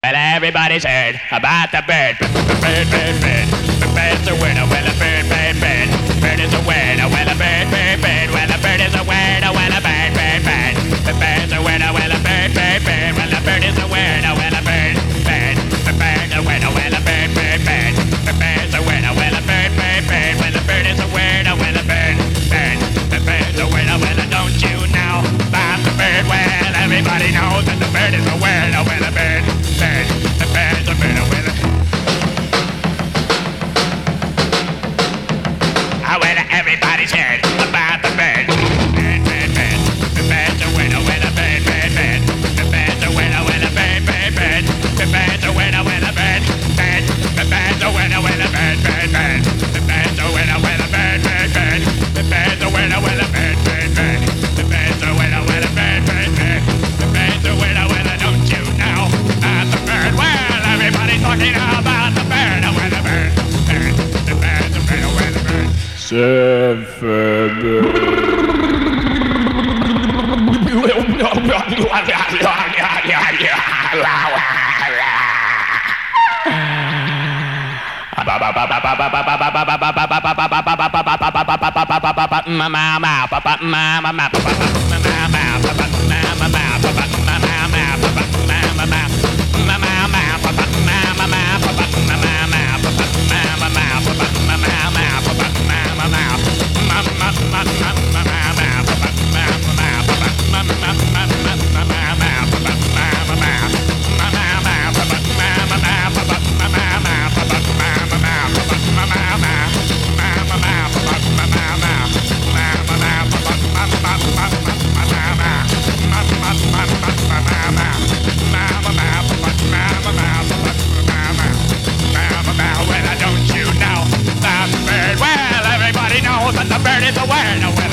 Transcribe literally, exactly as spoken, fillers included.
Well, everybody's heard about the bird. Bird, bird, bird. The bird's a winner. Well, a bird, bird, bird. Bird is a winner. Well, a bird, bird, bird. Well, a bird is a winner. Well, a bird, bird, bird. The bird's a winner. Well, a bird, bird, bird. Well, a bird is a winner. Well, a bird, bird. The bird's a winner. Well, a bird, bird, bird. The bird's a winner. Well, a bird, bird, bird. Well, a bird is a winner. Well, a bird, bird. The bird's a winner. Well, don't you know about the bird? Well, everybody knows that the bird is a winner. Well, a bird, bird. The bird's a winner. Well, ah, well, everybody's heard about the bird. Bird, bird, bird. The bird's a winner. Well, a bird, bird, bird. The bird's a winner. Well, a bird, bird, bird. The bird's a winner. Well, a bird, bird. The bird's a winner. Well, a bird, bird, bird. The bird's a winner. Well, a bird, bird, bird. The bird's a winner. Well, a bird, bird, bird. The bird's a winner. Well, a bird, bird, bird. The bird's a winner. Well, don't you know about the bird? Well, everybody's talking about the bird. Well, the bird, bird. The bird's a winner. Well, the bird. Well, don't you know about the bird? Well, everybody knows that the bird is a winner. Well,